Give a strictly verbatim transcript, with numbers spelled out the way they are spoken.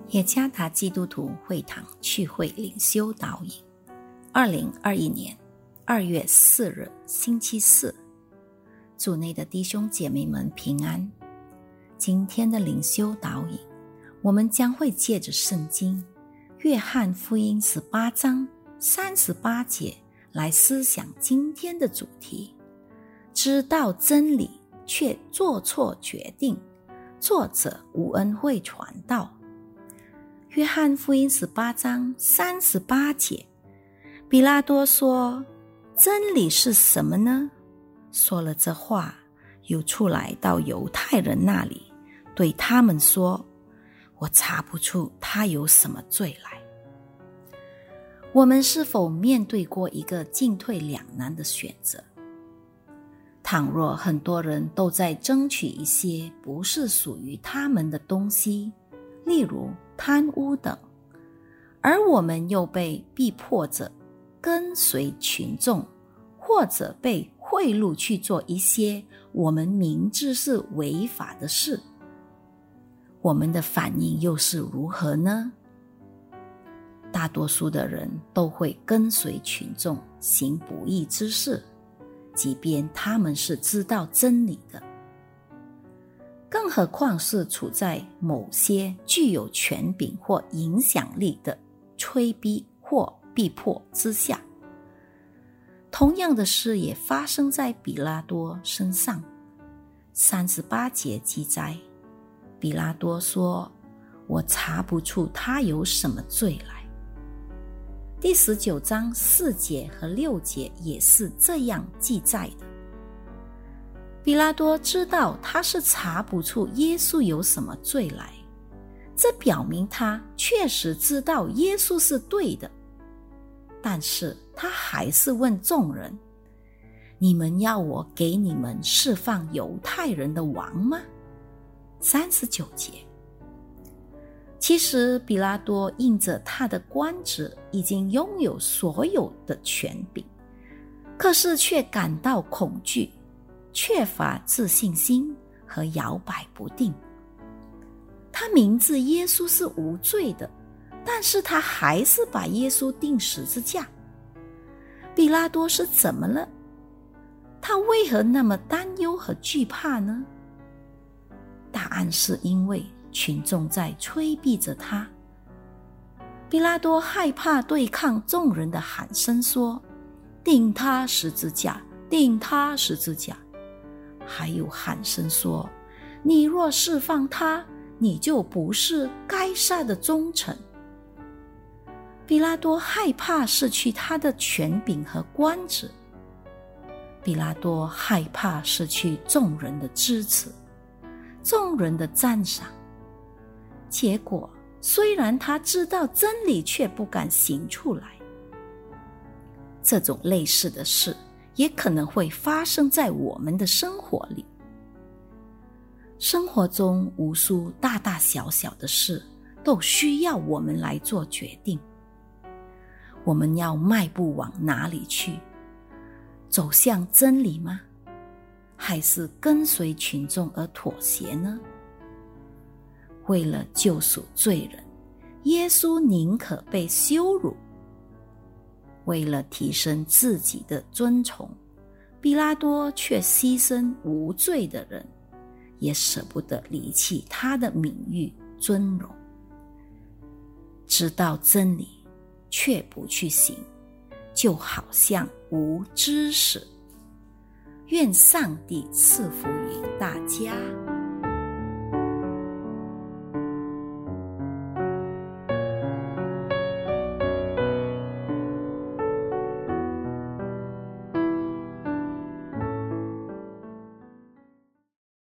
耶加达基督徒会堂聚会灵修导引，二零二一年二月四日星期四，主内的弟兄姐妹们平安。今天的灵修导引，我们将会借着圣经约翰福音十八章三十八节来思想今天的主题：知道真理却做错决定。作者吴恩惠传道。约翰福音十八章三十八节，比拉多说：真理是什么呢？说了这话，又出来到犹太人那里，对他们说：我查不出他有什么罪来。我们是否面对过一个进退两难的选择？倘若很多人都在争取一些不是属于他们的东西，例如贪污等，而我们又被逼迫着跟随群众，或者被贿赂去做一些我们明知是违法的事，我们的反应又是如何呢？大多数的人都会跟随群众行不义之事，即便他们是知道真理的，更何况是处在某些具有权柄或影响力的催逼或逼迫之下。同样的事也发生在比拉多身上。三十八节记载，比拉多说：我查不出他有什么罪来。第十九章四节和六节也是这样记载的。比拉多知道他是查不出耶稣有什么罪来，这表明他确实知道耶稣是对的，但是他还是问众人：你们要我给你们释放犹太人的王吗？三十九节。其实比拉多因着他的官职已经拥有所有的权柄，可是却感到恐惧，缺乏自信心和摇摆不定。他明知耶稣是无罪的，但是他还是把耶稣钉十字架。比拉多是怎么了？他为何那么担忧和惧怕呢？答案是因为群众在催逼着他。比拉多害怕对抗众人的喊声说：钉他十字架，钉他十字架。还有喊声说：你若释放他，你就不是该撒的忠臣。比拉多害怕失去他的权柄和官职，比拉多害怕失去众人的支持，众人的赞赏。结果虽然他知道真理，却不敢行出来。这种类似的事也可能会发生在我们的生活里。生活中无数大大小小的事都需要我们来做决定。我们要迈步往哪里去？走向真理吗？还是跟随群众而妥协呢？为了救赎罪人，耶稣宁可被羞辱。为了提升自己的尊崇，比拉多却牺牲无罪的人，也舍不得离弃他的名誉尊荣。知道真理却不去行，就好像无知识。愿上帝赐福于大家。